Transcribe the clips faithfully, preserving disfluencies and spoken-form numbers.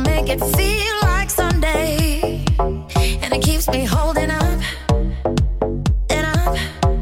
make it feel like Sunday, and it keeps me holding up and up.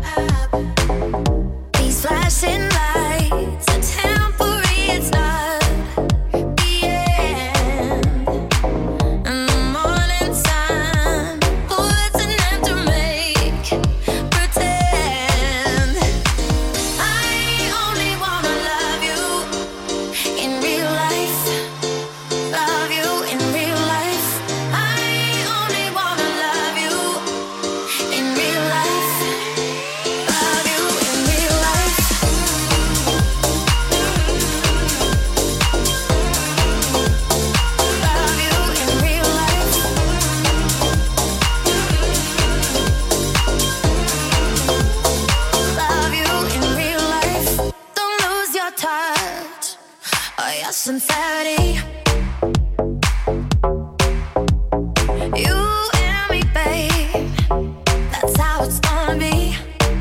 These flashing lights are temporary, it's not the end. And the morning sun puts an end to make pretend. I only wanna love you in real life, love you in real life. I only wanna love you in real life, love you in real life. Love you in real life. Love you in real life. Don't lose your touch or your sincerity. You and me, babe, that's how it's gonna be.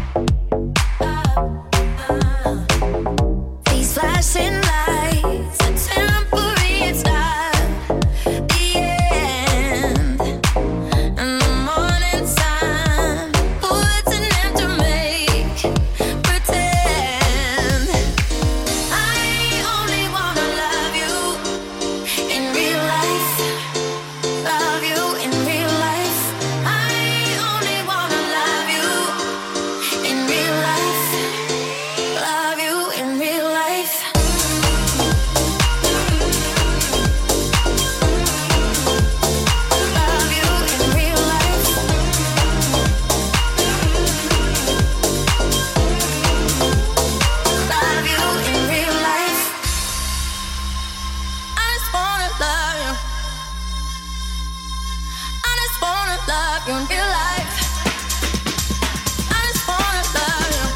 These flashing lights are temporary, it's not the end. And the morning sun puts an end to make pretend. I only wanna love you in real life, love you in real life. I only wanna love you in real life, love you in real life. Love you in real life. Love you in real life. I just wanna love you. I just wanna love you in real life. I just wanna love you.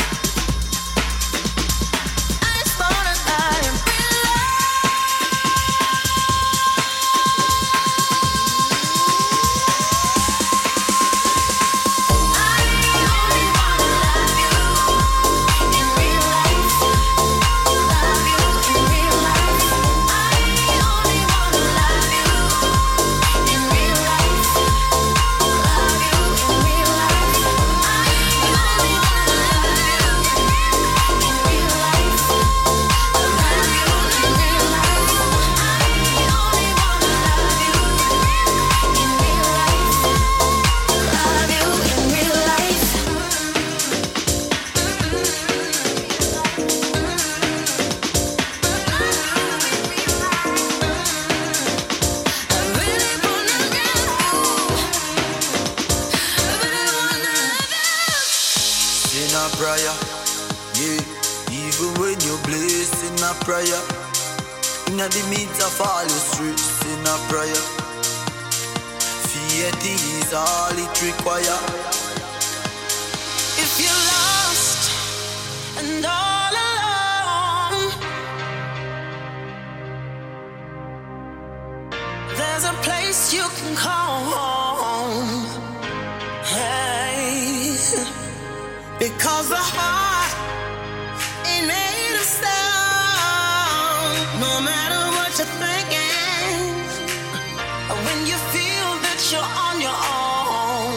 I just wanna love you in real life. I only wanna love you in real life. Love you in real life. I only wanna love you in real life. Love you in real life. I only wanna love you in real life. Love you in real life. I only wanna love you in real life. Love you in real life. I really wanna love you. I really wanna love you. In a prayer, yeah. Even when you're blessed in a prayer, in the midst of all your stress in a prayer, faith is all it require. If you're lost and all alone, there's a place you can call home. Hey, because the heart ain't made of stone. No matter what you're thinking, when you feel that you're on your own.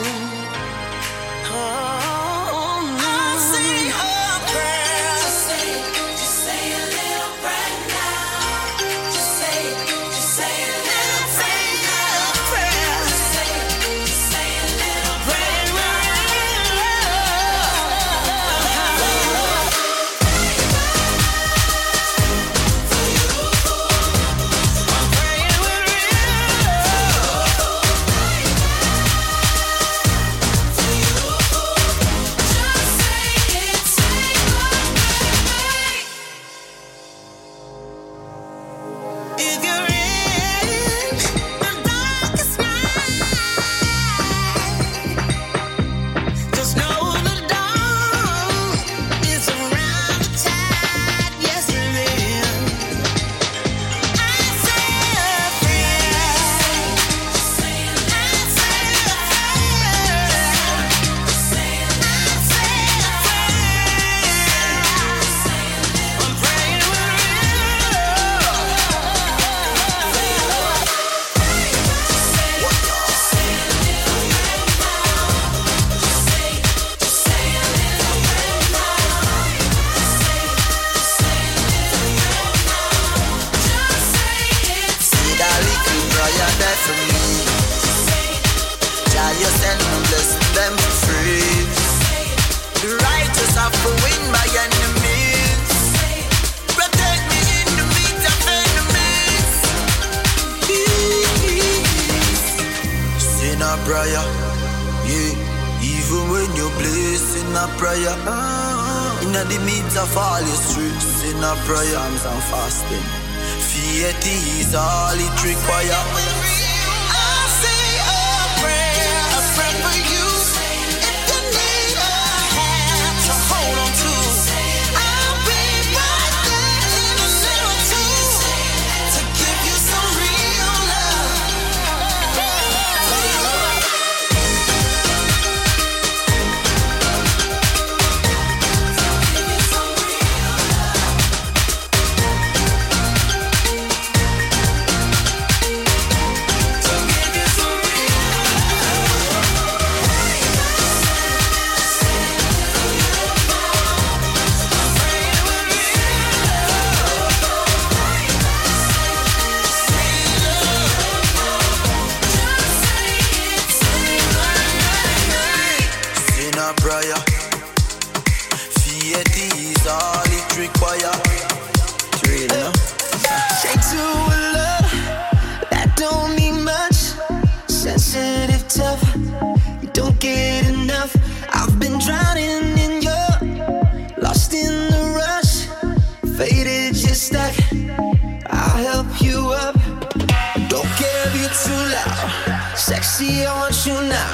Oh, I'll say a prayer. Just say, just say a little prayer now. Just say, just say a little prayer. Just say, just say a little prayer. I'm praying with real. for me. Jah, you send me blessing them for free. The righteous have to win by enemies. Protect me in the meat of enemies. Sin a prayer, yeah. Even when you place in a prayer, in the midst of all your streets, in a prayer, and fasting. Faith is all it requires. I say a prayer, a prayer for you. If you need a hand to hold on to, I'll be right there in a minute too, to give you some real love. Prayer, faith is all it requires. Real, no? Straight to a love that don't mean much. Sensitive, tough, you don't get enough. I've been drowning in your, lost in the rush, faded, just stuck. I'll help you up. Don't care if you're too loud. Sexy, I want you now.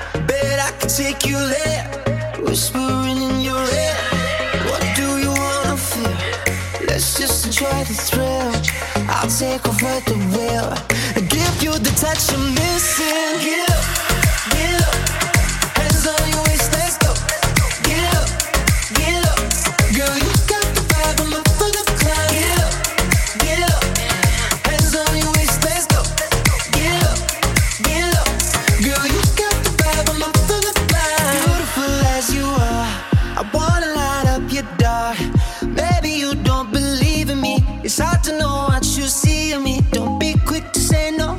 Bet I can take you there. Whispering in your ear, what do you wanna feel? Let's just enjoy the thrill. I'll take over the wheel and give you the touch you're missing. Get up, get up, hands on your waist, let's go. Get up, get up, girl, you got the vibe, I'm up for the climb. Get up, get up, hands on your waist, let's go. Get up, get up, girl, you got the vibe, I'm up for the climb. Beautiful as you are, I wanna light up your dark. Maybe you don't believe in me. It's hard to know what you see in me. Don't be quick to say no.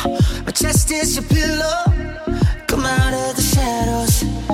My chest is your pillow. Come out of the shadows.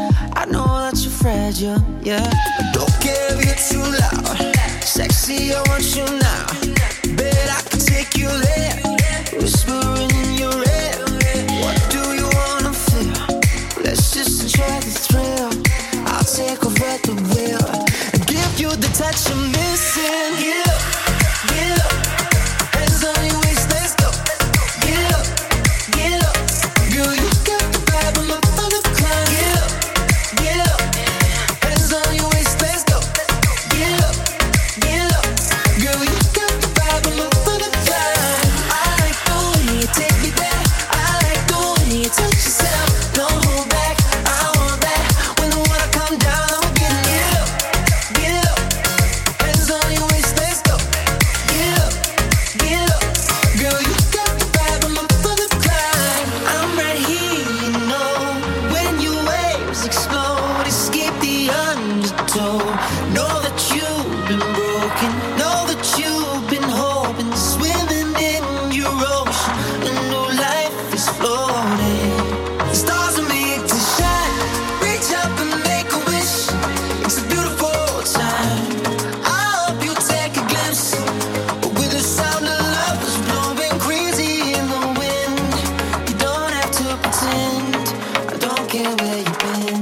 I know that you're fragile, yeah. Don't care if you're too loud. Sexy, I want you now. Bet I can take you there. Whispering in your ear. What do you wanna feel? Let's just enjoy the thrill. I'll take over the wheel and give you the touch you're missing. Get up, get up, hands on your waist, let's go. Get up, get up, girl, you got the vibe, I'm up for the climb. Get up, get up, hands on your waist, let's go. Get up, get up, girl, you got the vibe, I'm up for the climb. I like the way you take me there. I like the way you touch yourself. Don't hold back, I want that. When the water come down, I'm getting it up. Get up, hands on your waist, let's go. Get up, get up, girl, you got the vibe, I'm up for the climb. I'm right here, you know. When your waves explode, escape the undertow. Know that you've been broken, know that you've been hoping, swimming in your ocean. A new life is floating. The stars are made to shine. Reach up and make a wish. It's a beautiful time. I hope you take a glimpse. With the sound of love is blowing crazy in the wind. You don't have to pretend. I don't care where you've been.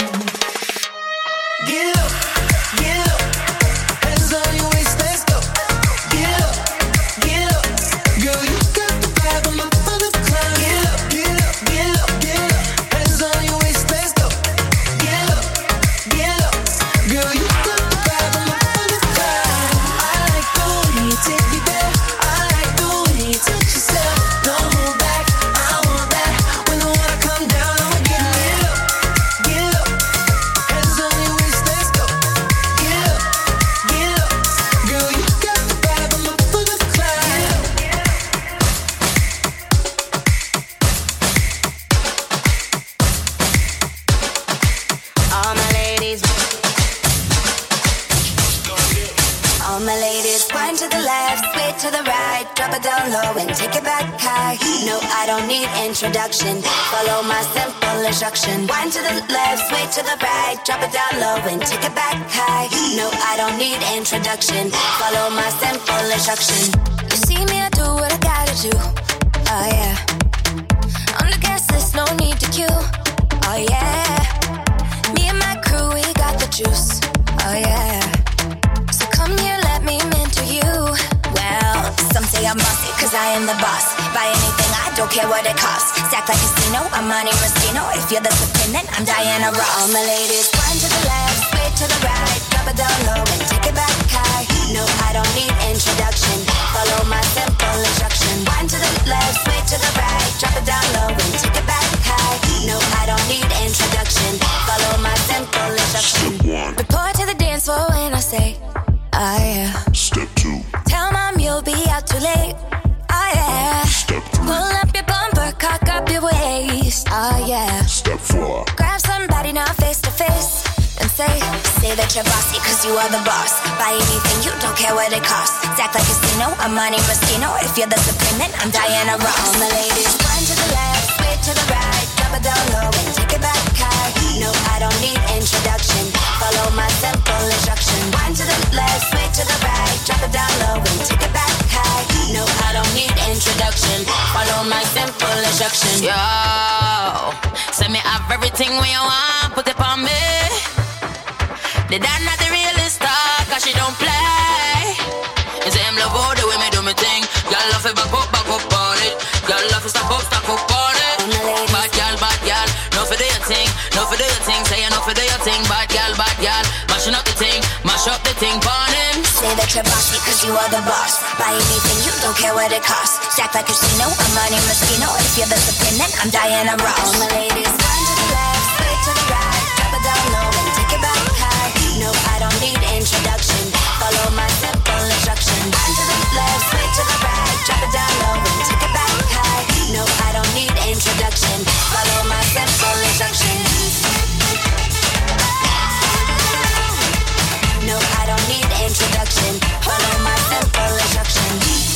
Get up, get up, hands on your waist, let's go. Get up, get up, girl, you got the vibe, I'm up for the climb. Get up, get up, get up, get up, hands on your waist, let's go. Get up, get up, girl, you got the vibe, I'm up for the climb. I like the way you take me there. I like the way you touch yourself. Don't hold back, I want that. When the water come down, I'ma get lit up. Get up, hands on your waist, let's go. Get up, get up, girl, you got the vibe, I'm up for the climb. All my ladies, all my ladies, wind to the left, sway to the right, drop it down low and take it back high. No, I don't need introduction. Follow my simple instruction. Wind to the left, sway to the right, drop it down low and take it back high. No, I don't need introduction. Follow my simple instruction. You see me, I do what I gotta do. Oh yeah. On the gas list, no need to queue. Oh yeah. Me and my crew, we got the juice. Oh yeah. So come here, let me mentor you. Well, some say I'm bossy, cause I am the boss. Buy anything, I don't care what it costs. Stack like a casino, I'm Monte Rustino. If you're the supreme, then I'm Diana Ross. All my ladies, one to the left, sway to the right, drop it down low and take it back high. No, I don't need introduction. Follow my simple instruction. One to the left, sway to the right, drop it down low and take it back high. No, I don't need introduction. Follow my simple instruction. Report to the dance floor when I say, oh yeah. Step two. Tell mom you'll be out too late. Oh yeah. Step three. Pull up your bumper, cock up your waist. Oh yeah. Step four. Grab somebody now face to face and say, say that you're bossy cause you are the boss. Buy anything, you don't care what it costs. Act like a casino, I'm Monte Rustino. If you're the supreme, then I'm Diana Ross. All my ladies, one to the left, sway to the right, drop it down low and take it back high. No, I don't need introduction. Follow my simple instruction. One to the left, sway to the right, drop it down low and take it back high. No, I don't need introduction. Follow my simple instruction. Yo, send me have everything when you want, put it on me. The dad not the realest star, cause she don't play. You say him love all the way me do me thing. Y'all love it back up, back up on it. Y'all love it stop up, stop up on it. Bad y'all, bad y'all, no for do your thing, no for do your thing. Say you no for do your thing, bad y'all, bad y'all. Mashing up the thing, mash up the thing, burn him. Say that you're bossy cause you are the boss. Buy anything, you don't care what it costs. Stack like a casino, I'm Monte Rustino. If you're the supreme, then I'm Diana Ross. All my ladies, one to the left, sway to the right, drop it down low and take it back high. No, I don't need introduction. Follow my simple instruction. One to the left, sway to the right, drop it down low and take it back high. No, I don't need introduction. Follow my simple instruction. No, I don't need introduction. Follow my simple instruction.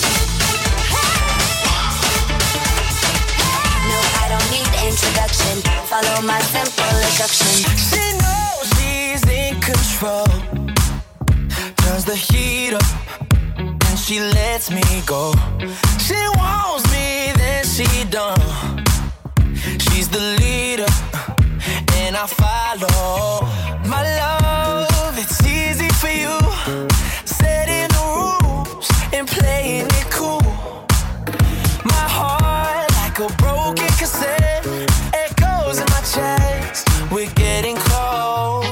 No, I don't need introduction. Follow my simple instruction. She knows she's in control. Turns the heat up and she lets me go. She wants me, then she don't. She's the leader and I follow. My love, it's easy for you. Setting the rules and playing it cool. My heart like a broken cassette. Echoes in my chest. We're getting close.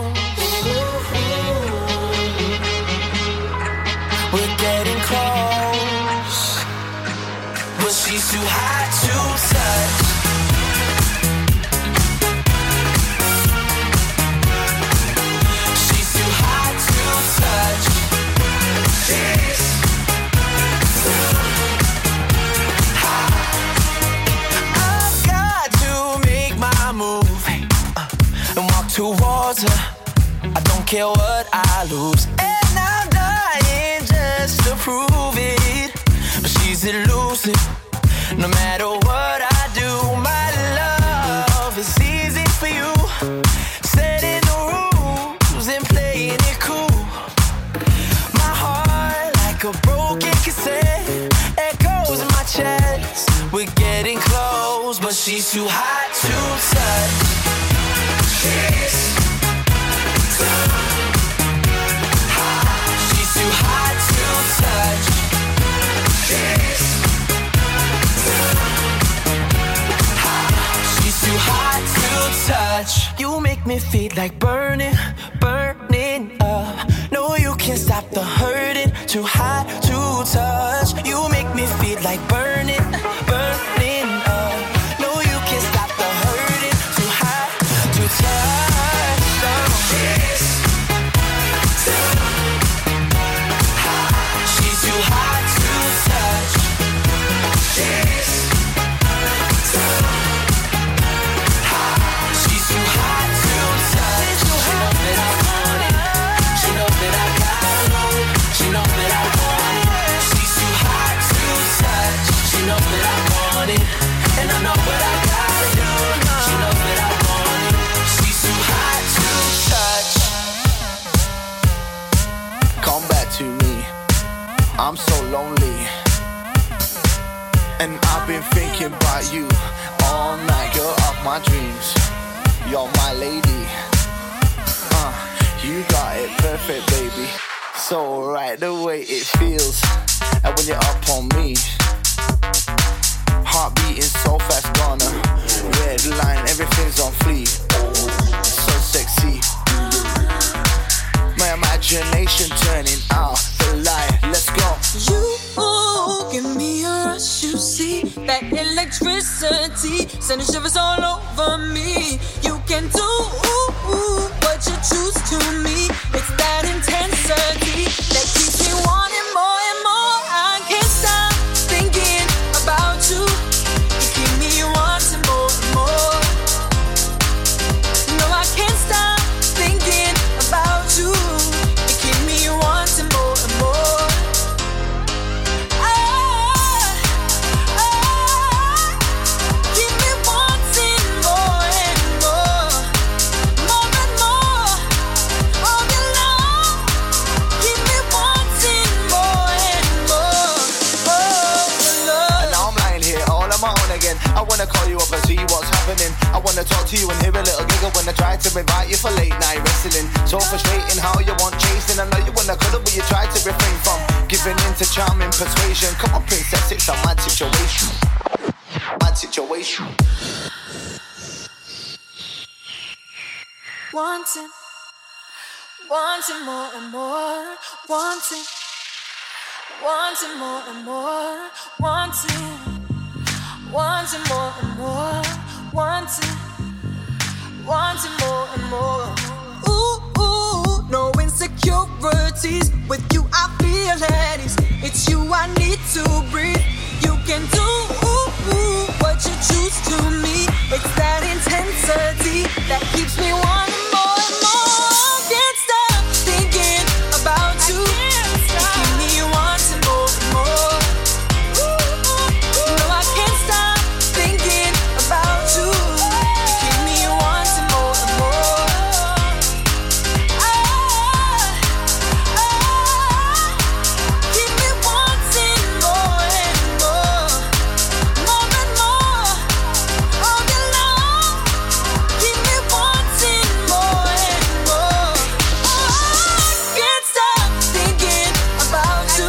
We're getting close. But she's too hot to touch. She's too hot to touch. She's too hot. I've got to make my move uh, and walk towards her. I don't care what I lose. And I'm dying just to prove it. But she's elusive. No matter what I do, my love is easy for you. Setting the rules and playing it cool. My heart like a broken cassette. Echoes in my chest. We're getting close, but she's too hot to touch. She's too hot. She's too hot to touch. She's too hot to touch. You make me feel like burning, burning up. No, you can't stop the hurting. Too hot to touch. You make me feel like burning, burning up. No, you can't stop the hurting. Too hot to touch. Oh. She's too hot. She's too hot to touch. She's that I got it. She knows that I want it. She's too hot to touch. you all night, girl of my dreams. You're my lady. Uh, you got it perfect, baby. So right the way it feels, and when you're up on me, heart beating so fast, gonna red line, everything's on fleek. So sexy. My imagination turning out the light. Let's go. You give me a rush, you see that electricity sending shivers all over me. You can do what you choose to me. It's that intensity that keeps me wanting more and more. I can't stop thinking about you. You keep me wanting more and more. No, I can't stop thinking about you. You keep me wanting more and more. I wanna call you up and see what's happening. I wanna talk to you and hear a little giggle when I try to invite you for late night wrestling. So frustrating how you want chasing. I know you wanna cuddle but you try to refrain from giving in to charming persuasion. Come on princess, it's a mad situation. Mad situation. Wanting, wanting more and more. Wanting, wanting more and more. Wanting. Wanting more and more, wanting, wanting more and more. Ooh, ooh, no insecurities. With you I feel at ease. It's you I need to breathe. You can do ooh, ooh, what you choose to me. It's that intensity that keeps me wanting more and more. Can't stop thinking about you. You keep me wanting more and more. No, I can't stop thinking about you. You keep me wanting more and more. Ah, ah, keep me wanting more and more, more and more. All day long, keep me wanting more and more. I can't stop thinking about you.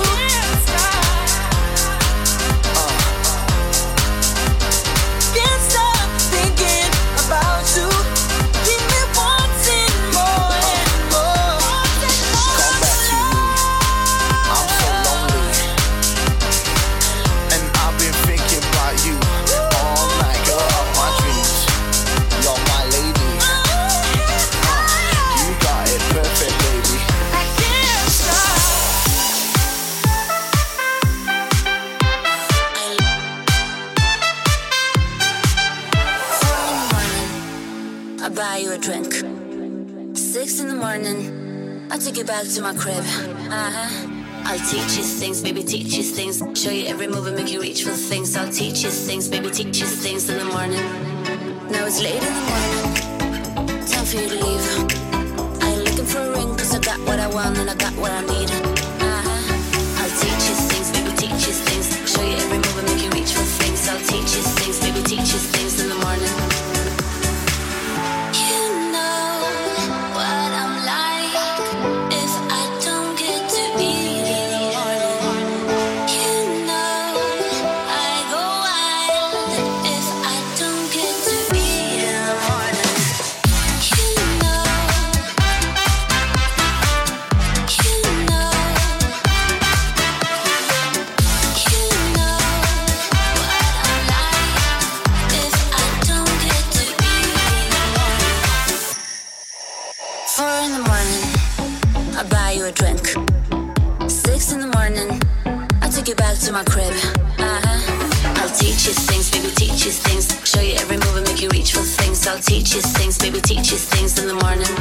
Can't stop thinking about you. Keep me wanting more and more. Come back to me. I'm so lonely. And I've been thinking about you all night, girl of my dreams. You're my lady. Uh, you got it perfect, baby. I can't stop. I buy you a drink. Six in the morning, I take you back to my crib. Uh-huh. I'll teach you things, baby, teach you things. Show you every move and make you reach for things. I'll teach you things, baby, teach you things in the morning. Now it's late in the morning, time for you to leave. I ain't looking for a ring, cause I got what I want and I got what I need. Uh-huh. I'll teach you things, baby, teach you things. Show you every move and make you reach for things. I'll teach you things, baby, teach you things in the morning. You know what I'm like if I don't get to eat in the morning. You know I go wild if I don't get to eat in the morning. You know, you know, you know what I'm like if I don't get to eat in the morning. Four in the morning, I buy you a drink. Six in the morning, I take you back to my crib. Uh-huh. I'll teach you things, baby, teach you things. Show you every move and make you reach for things. I'll teach you things, baby, teach you things in the morning.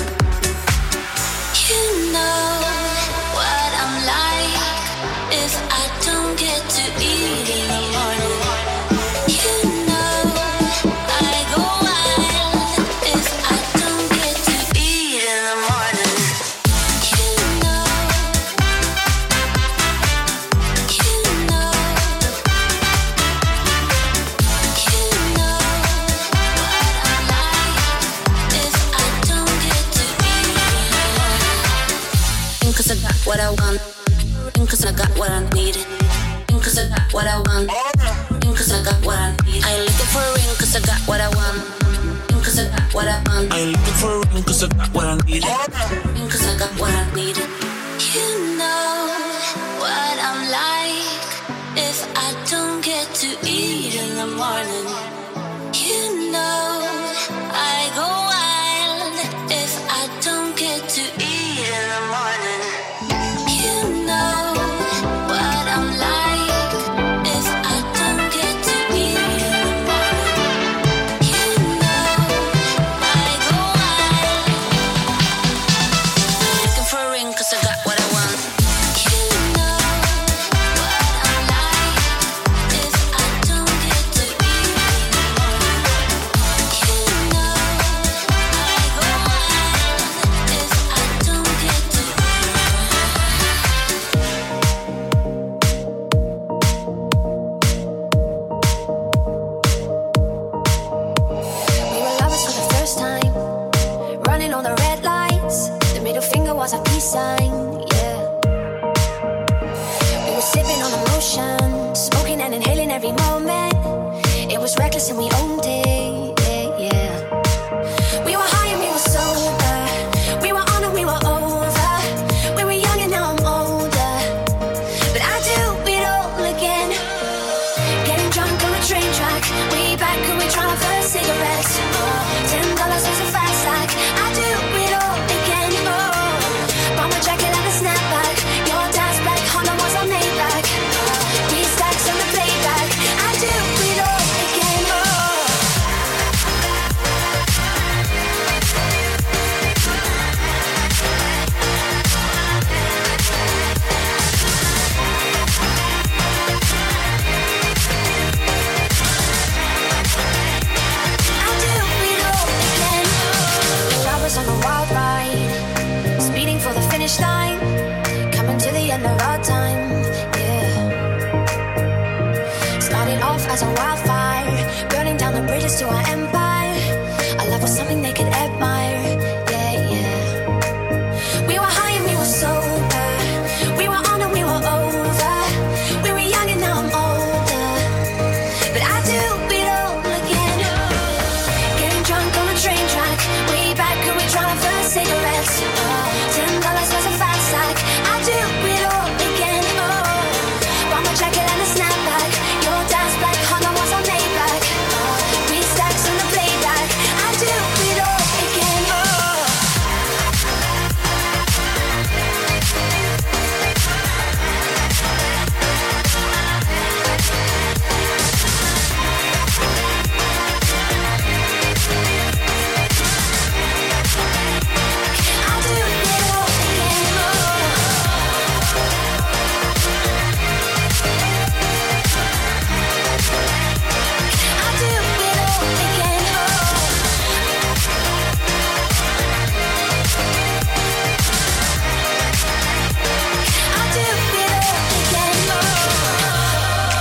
You know what I'm like if I don't get to eat in the morning. You know I go wild if I don't get to eat in the morning. You know, you know, you I want. Cause I got what I need. Cause I got what I want. Cause I got what I need. I ain't looking for a ring cause I got what I want. Cause I got what I want. I ain't looking for a ring cause I got what I need. Cause I got what I need. You know what I'm like if I don't get to eat in the morning. You know I go wild if I don't get to eat in the morning. You know what I'm like if I don't get to eat in the morning. You know I go wild. Looking for a ring cause I got what I want. You know what I'm like if I don't get to eat in the morning. You know I go wild if I don't get to eat. We were lovers for the first time, running on the red lights. The middle finger was a peace sign, yeah. We were sipping on emotion, smoking and inhaling every moment. It was reckless and we owned it, yeah, yeah. We were high and we were sober. We were on and we were over. We were young and now I'm older. But I do it all again. Getting drunk on the train track. Way back when we trying for cigarettes. Oh, ten dollars was a fast stack. I do it all again. Oh, bought my jacket and a snapback. Your dad's black Honda was on Maybach. Oh, three stacks on the playback. I do it all again. Oh. I do it all again. Well, I was on a wild ride, speeding for the finish line, coming to the end of our time, yeah. Starting off as a wildfire, burning down the bridges to our empire. Our love was something they could admire, yeah, yeah. We were high and we were sober. We were on and we were over. We were young and now I'm older. But I do it all again. Getting drunk on a train track. Way back when we trying for cigarettes. Oh, ten dollars was a fat sack. I do it all again. Oh, bought my jacket and a snapback. Your dad's black Honda was on Maybach. Oh, three stacks on the playback. I do it all again. Oh. I do it all again. I do it all again. I do it all again.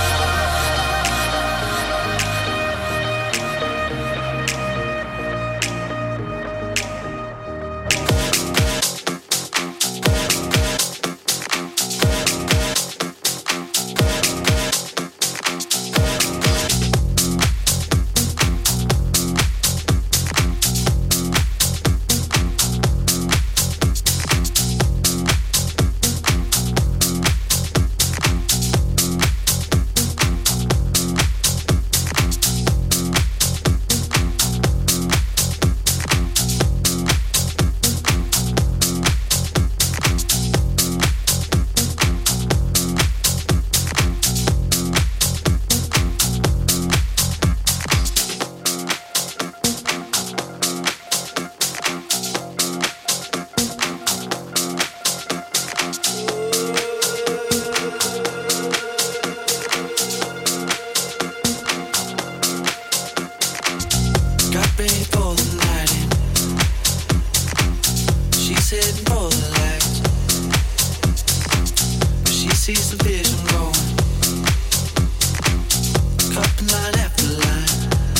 Got ready for the night in. She's heading for the lights, but she sees the vision going. Cupping line after line.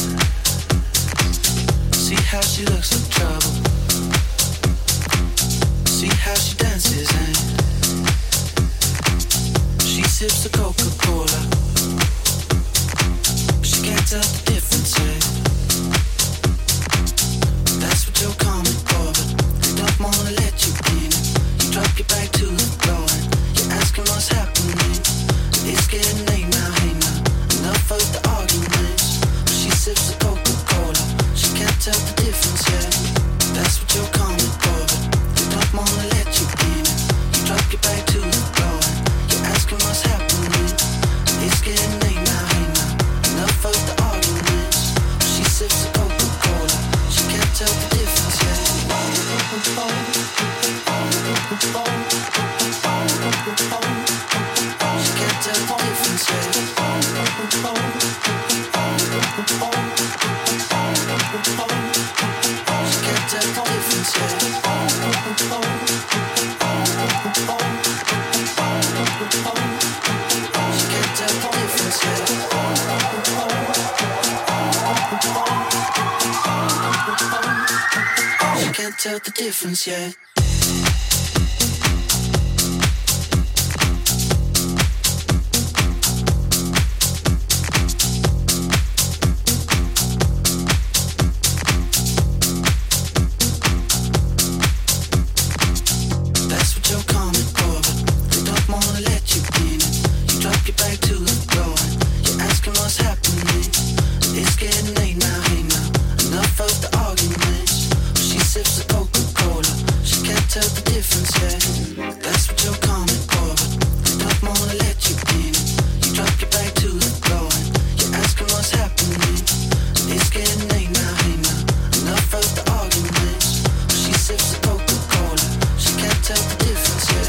See how she looks in trouble. See how she dances and sips of Coca-Cola, but she can't tell the difference yet. That's what you're coming for, but they don't wanna let you in. You drop your back to the floor and you're asking what's happening. It's getting late now, hey now, enough of the arguments. But she sips of Coca-Cola, she can't tell the difference yet. That's what you're coming for, but they don't wanna let you in. You drop your back to the floor and you're asking what's happening. It's getting late now, hey now, enough of the arguments. But she sips of Coca-Cola, she can't tell the difference yet. She can't tell the difference yet. She can't tell the difference yet. She can't tell the difference yet. She can't tell the difference yet. That's what you're coming for, but they don't wanna let you in. You drop your back to the floor and you're asking what's happening. It's getting late now, hey now, enough of the arguments. She sips of Coca-Cola, she can't tell the difference yet. That's what you're coming for, but they don't wanna let you in. You drop your back to the floor and you're asking what's happening. It's getting late now, hey now, enough of the arguments. She sips of Coca-Cola, she can't tell the difference yet.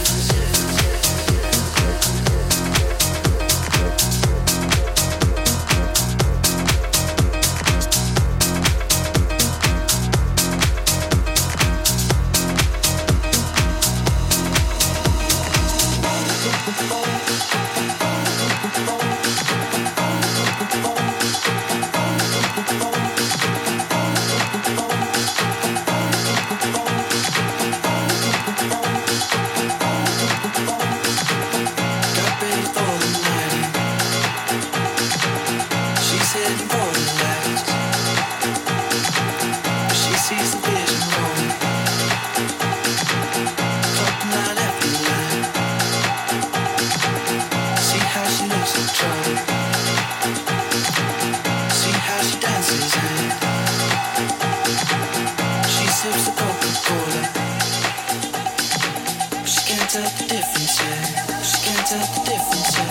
Got ready for the night. She's heading for the lights, but she sees the vision rolling. Dropping line after line. See how she looks in trouble. See how she dances and she sips the Coca-Cola. She can't tell the difference yet. She can't tell the difference yet.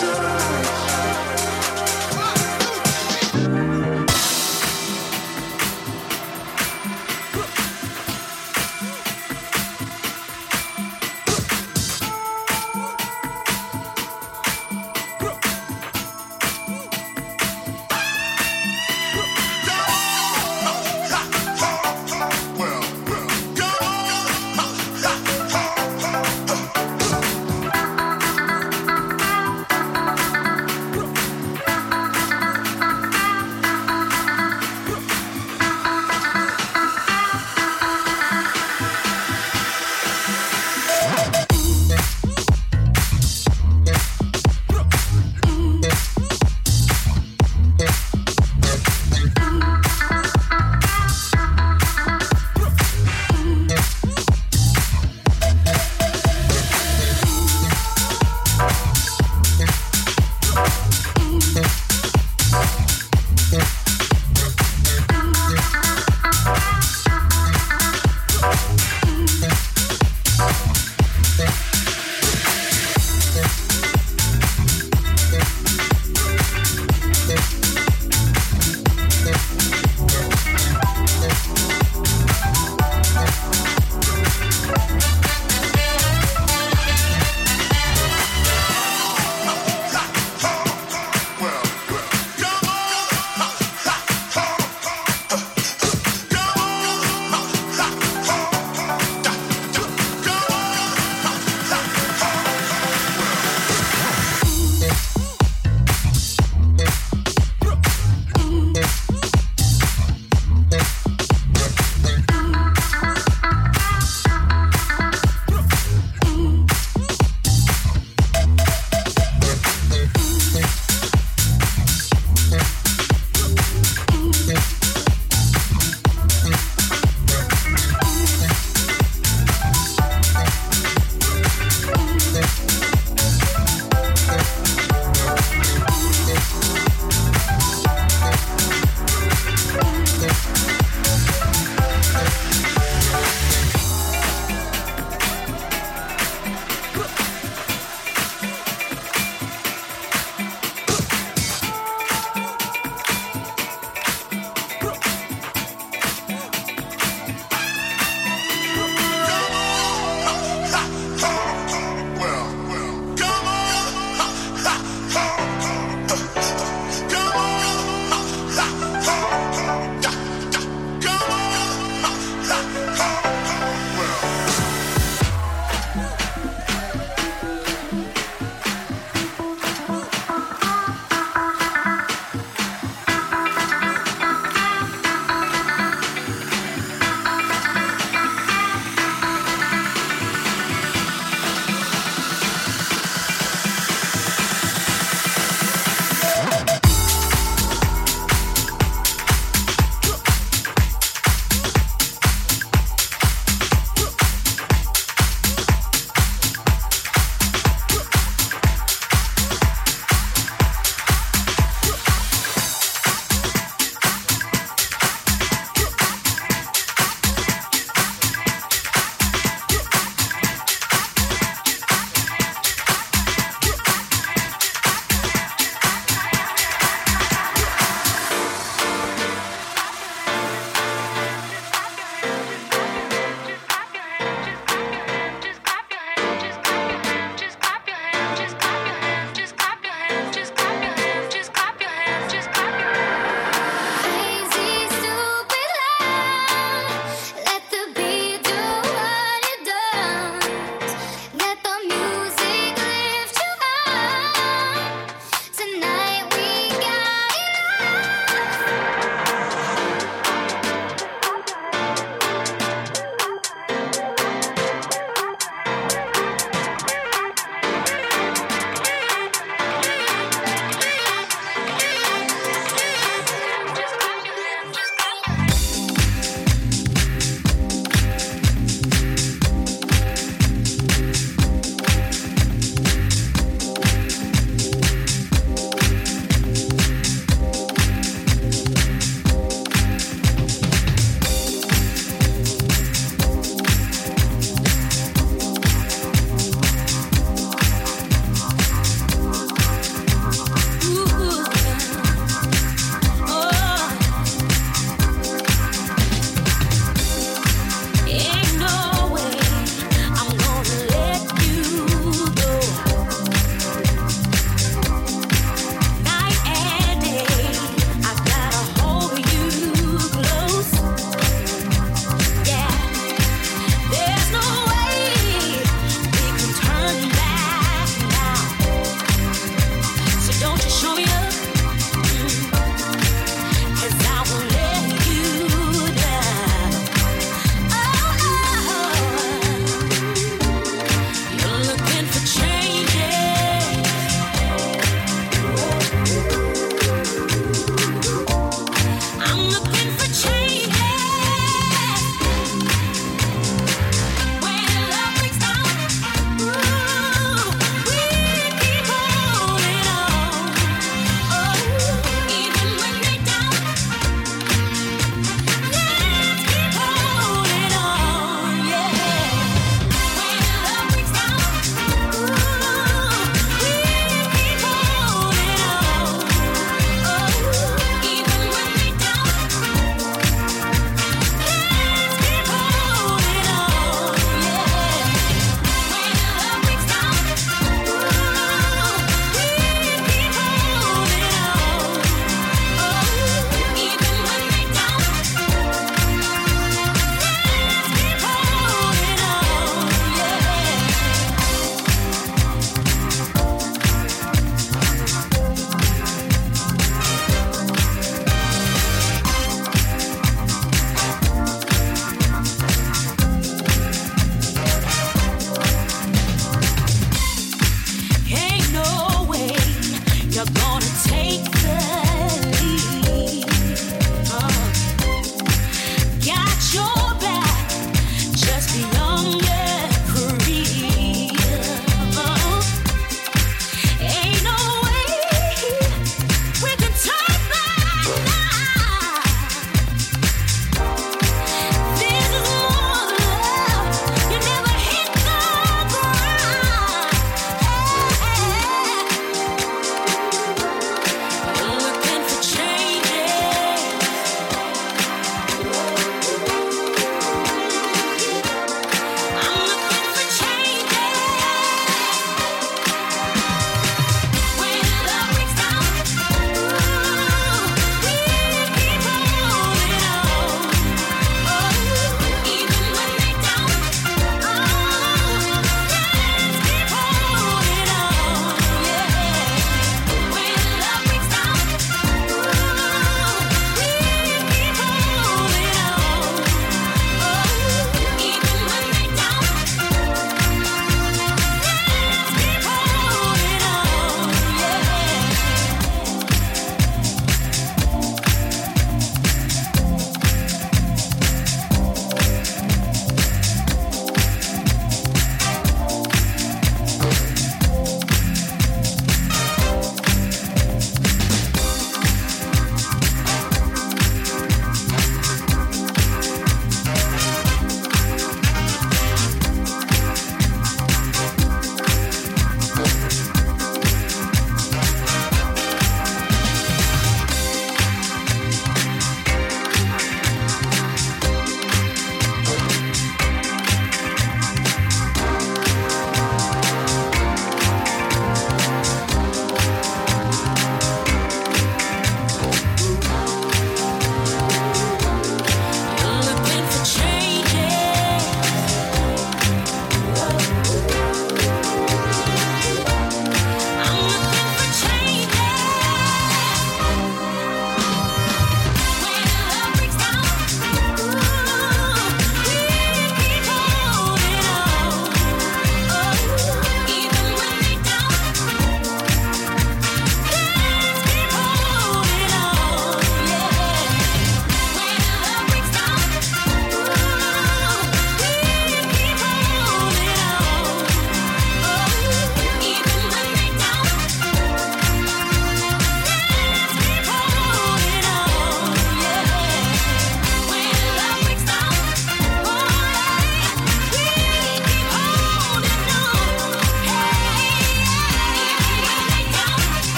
Well, well, go.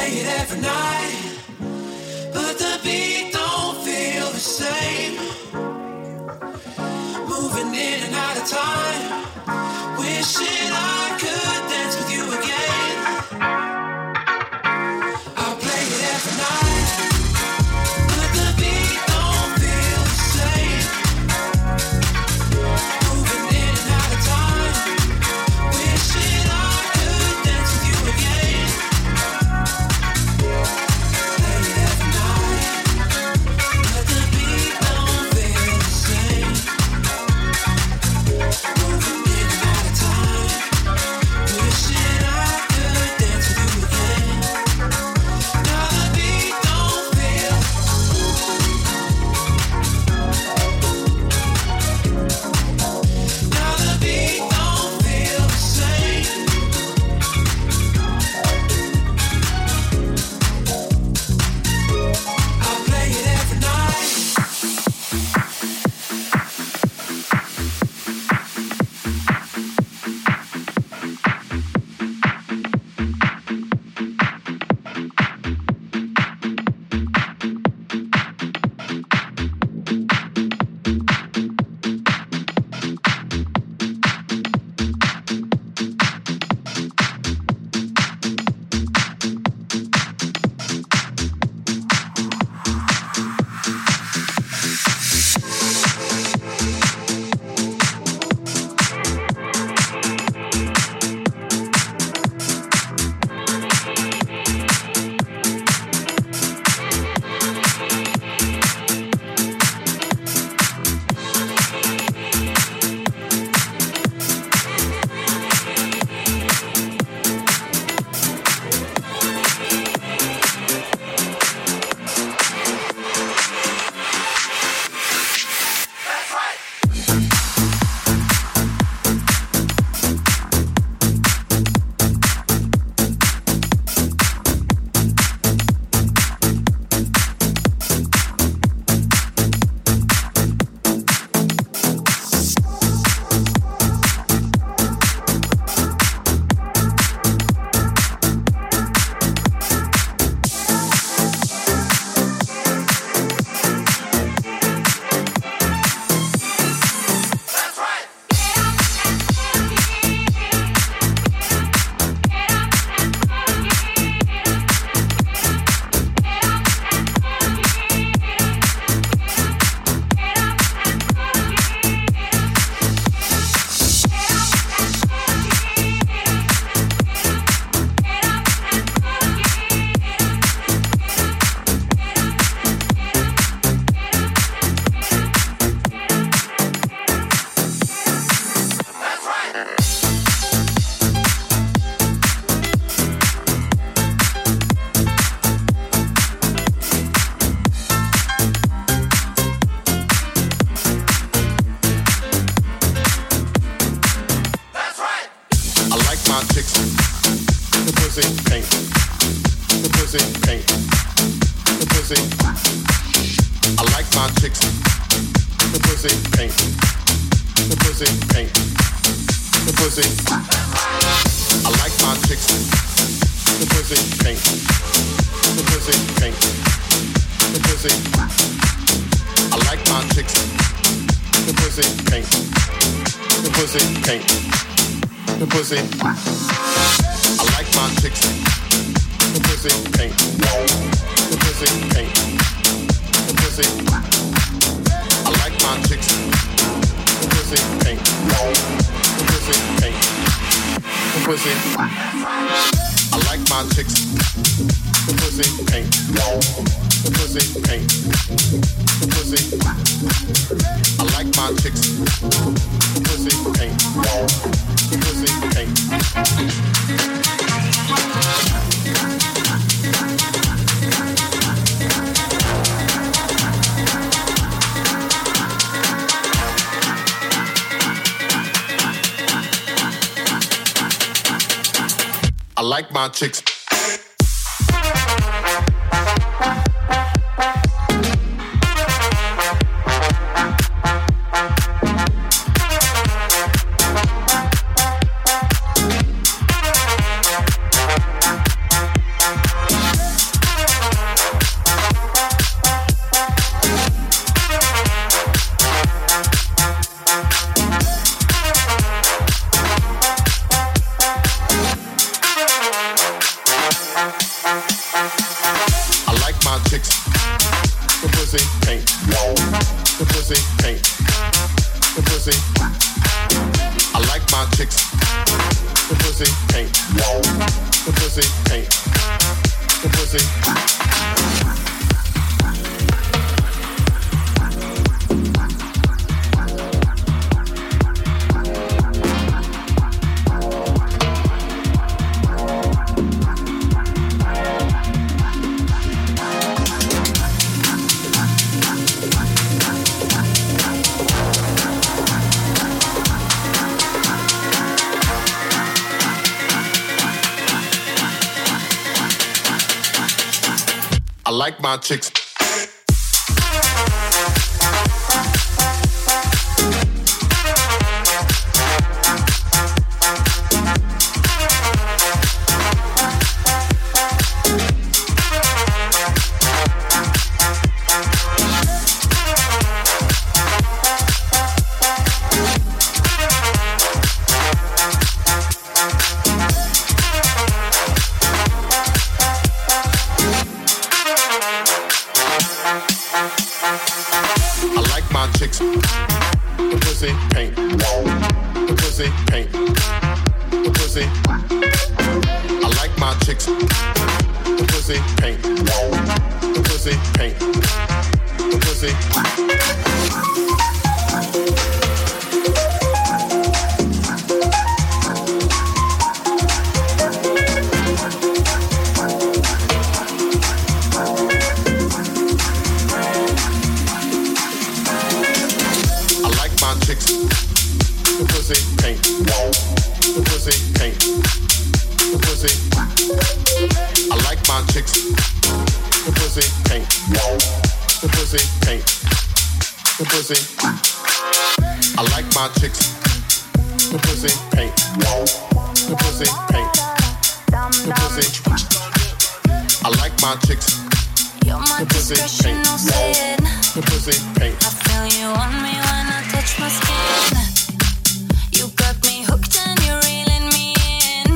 play it every night, but the beat don't feel the same. Moving in and out of time, wishing I could dance with you again. I'll play it every night, but the beat don't feel the same. Moving in and out of time, wishing I could dance with you again. Play it every night, but the beat don't feel the same. Moving in and out of time, wishing I could dance with you again. Now the beat don't feel. Now the beat don't feel the same. I'll play it every night. I like my chicks. chicks, the pussy pink, the pussy pink, the pussy. I like my chicks, the pussy pink, the pussy pink, the pussy. I like my chicks. The pussy pink, the pussy pink, the pussy. I like my chicks. The pussy pink, the pussy pink, the pussy. The pussy pink, the pussy pink, the pussy. I like my chicks. The pussy pink, the pussy pink, the pussy. I like my chicks. The pussy pink, the pussy pink, the pussy. I like my chicks. You're my discretion, no sin. The pussy pink. I feel you on me when I touch my skin. You got me hooked and you're reeling me in.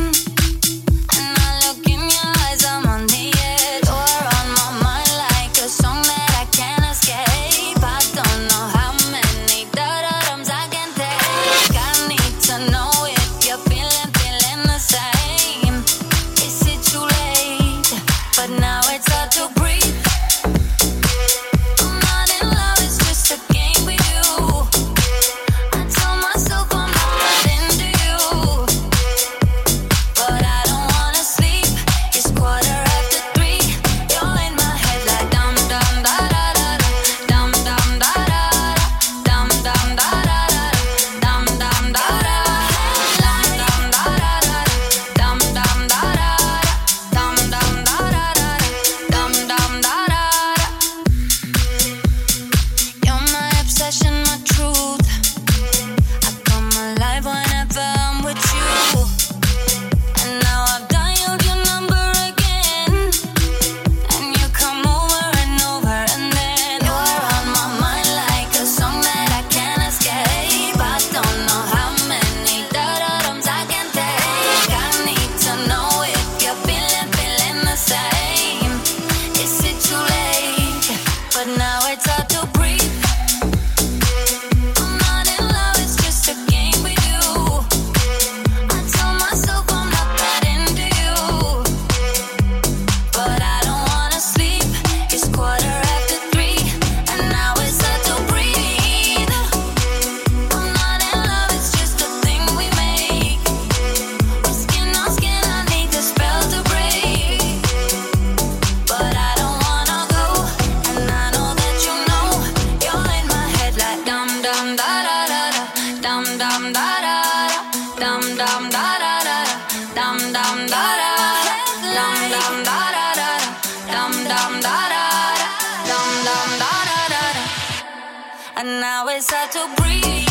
And I look in your eyes, I'm on the edge. You're on my mind like a song that I can't escape. I don't know how many da-da-dums I can take. I need to know if you're feeling, feeling the same. Is it too late? But now it's hard to breathe. And now it's hard to breathe.